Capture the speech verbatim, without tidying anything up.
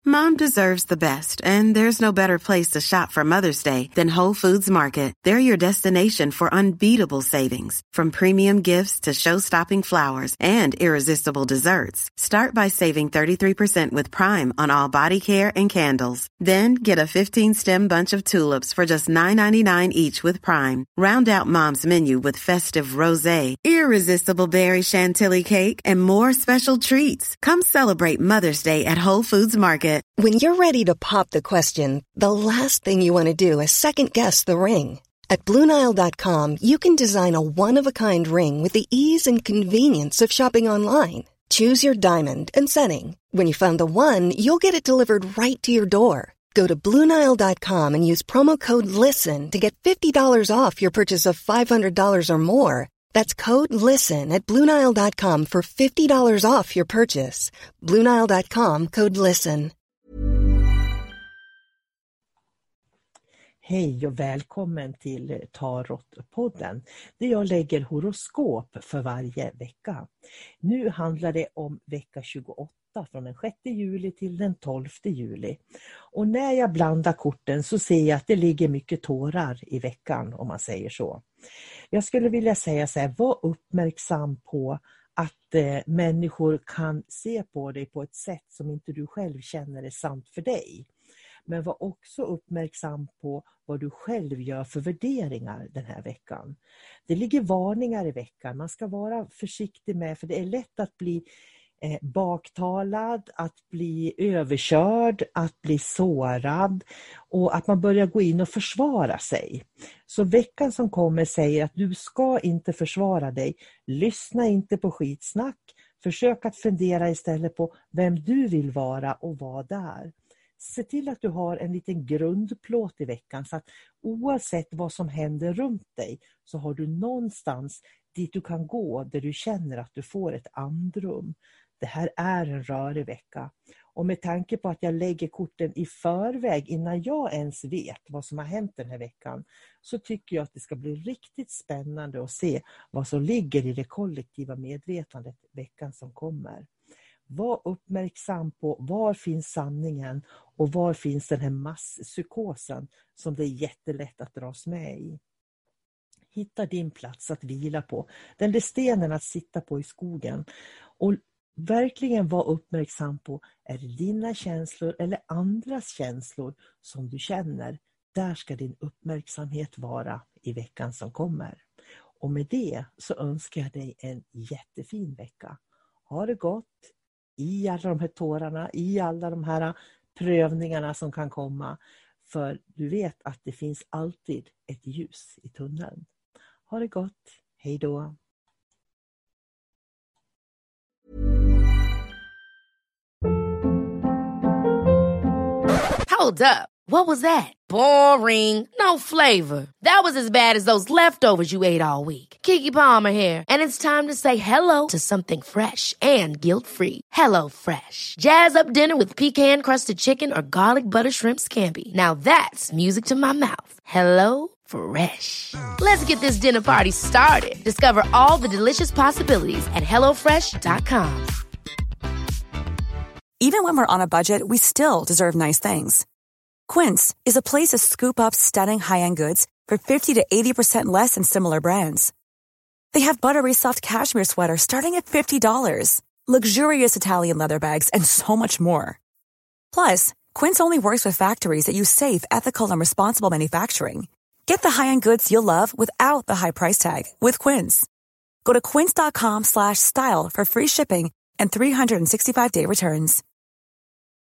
Mom deserves the best, and there's no better place to shop for Mother's Day than Whole Foods Market. They're your destination for unbeatable savings, from premium gifts to show-stopping flowers and irresistible desserts. Start by saving thirty-three percent with Prime on all body care and candles. Then get a fifteen-stem bunch of tulips for just nine ninety-nine each with Prime. Round out Mom's menu with festive rosé, irresistible berry chantilly cake, and more special treats. Come celebrate Mother's Day at Whole Foods Market. When you're ready to pop the question, the last thing you want to do is second-guess the ring. At Blue Nile dot com, you can design a one-of-a-kind ring with the ease and convenience of shopping online. Choose your diamond and setting. When you find the one, you'll get it delivered right to your door. Go to Blue Nile dot com and use promo code LISTEN to get fifty dollars off your purchase of five hundred dollars or more. That's code LISTEN at Blue Nile dot com for fifty dollars off your purchase. Blue Nile dot com, code LISTEN. Hej och välkommen till Tarotpodden där jag lägger horoskop för varje vecka. Nu handlar det om vecka tjugoåtta från den sjätte juli till den tolfte juli. Och när jag blandar korten så ser jag att det ligger mycket tårar i veckan, om man säger så. Jag skulle vilja säga så här, var uppmärksam på att eh, människor kan se på dig på ett sätt som inte du själv känner är sant för dig. Men var också uppmärksam på vad du själv gör för värderingar den här veckan. Det ligger varningar i veckan. Man ska vara försiktig med, för det är lätt att bli eh, baktalad, att bli överkörd, att bli sårad och att man börjar gå in och försvara sig. Så veckan som kommer säger att du ska inte försvara dig. Lyssna inte på skitsnack. Försök att fundera istället på vem du vill vara och vad där. Se till att du har en liten grundplåt i veckan så att oavsett vad som händer runt dig så har du någonstans dit du kan gå där du känner att du får ett andrum. Det här är en rörig vecka. Och med tanke på att jag lägger korten i förväg innan jag ens vet vad som har hänt den här veckan så tycker jag att det ska bli riktigt spännande att se vad som ligger i det kollektiva medvetandet veckan som kommer. Var uppmärksam på var finns sanningen och var finns den här masspsykosen som det är jättelätt att dras med i. Hitta din plats att vila på. Den där stenen att sitta på i skogen. Och verkligen var uppmärksam på, är det dina känslor eller andras känslor som du känner? Där ska din uppmärksamhet vara i veckan som kommer. Och med det så önskar jag dig en jättefin vecka. Ha det gott i alla de här tårarna, i alla de här prövningarna som kan komma. För du vet att det finns alltid ett ljus i tunneln. Ha det gott. Hej då. Hold up. What was that? Boring. No flavor. That was as bad as those leftovers you ate all week. Keke Palmer here, and it's time to say hello to something fresh and guilt-free. Hello Fresh. Jazz up dinner with pecan-crusted chicken or garlic butter shrimp scampi. Now that's music to my mouth. Hello Fresh. Let's get this dinner party started. Discover all the delicious possibilities at hello fresh dot com. Even when we're on a budget, we still deserve nice things. Quince is a place to scoop up stunning high-end goods for fifty to eighty percent less than similar brands. They have buttery soft cashmere sweaters starting at fifty dollars, luxurious Italian leather bags, and so much more. Plus, Quince only works with factories that use safe, ethical, and responsible manufacturing. Get the high-end goods you'll love without the high price tag with Quince. Go to quince dot com slash style for free shipping and three sixty-five day returns.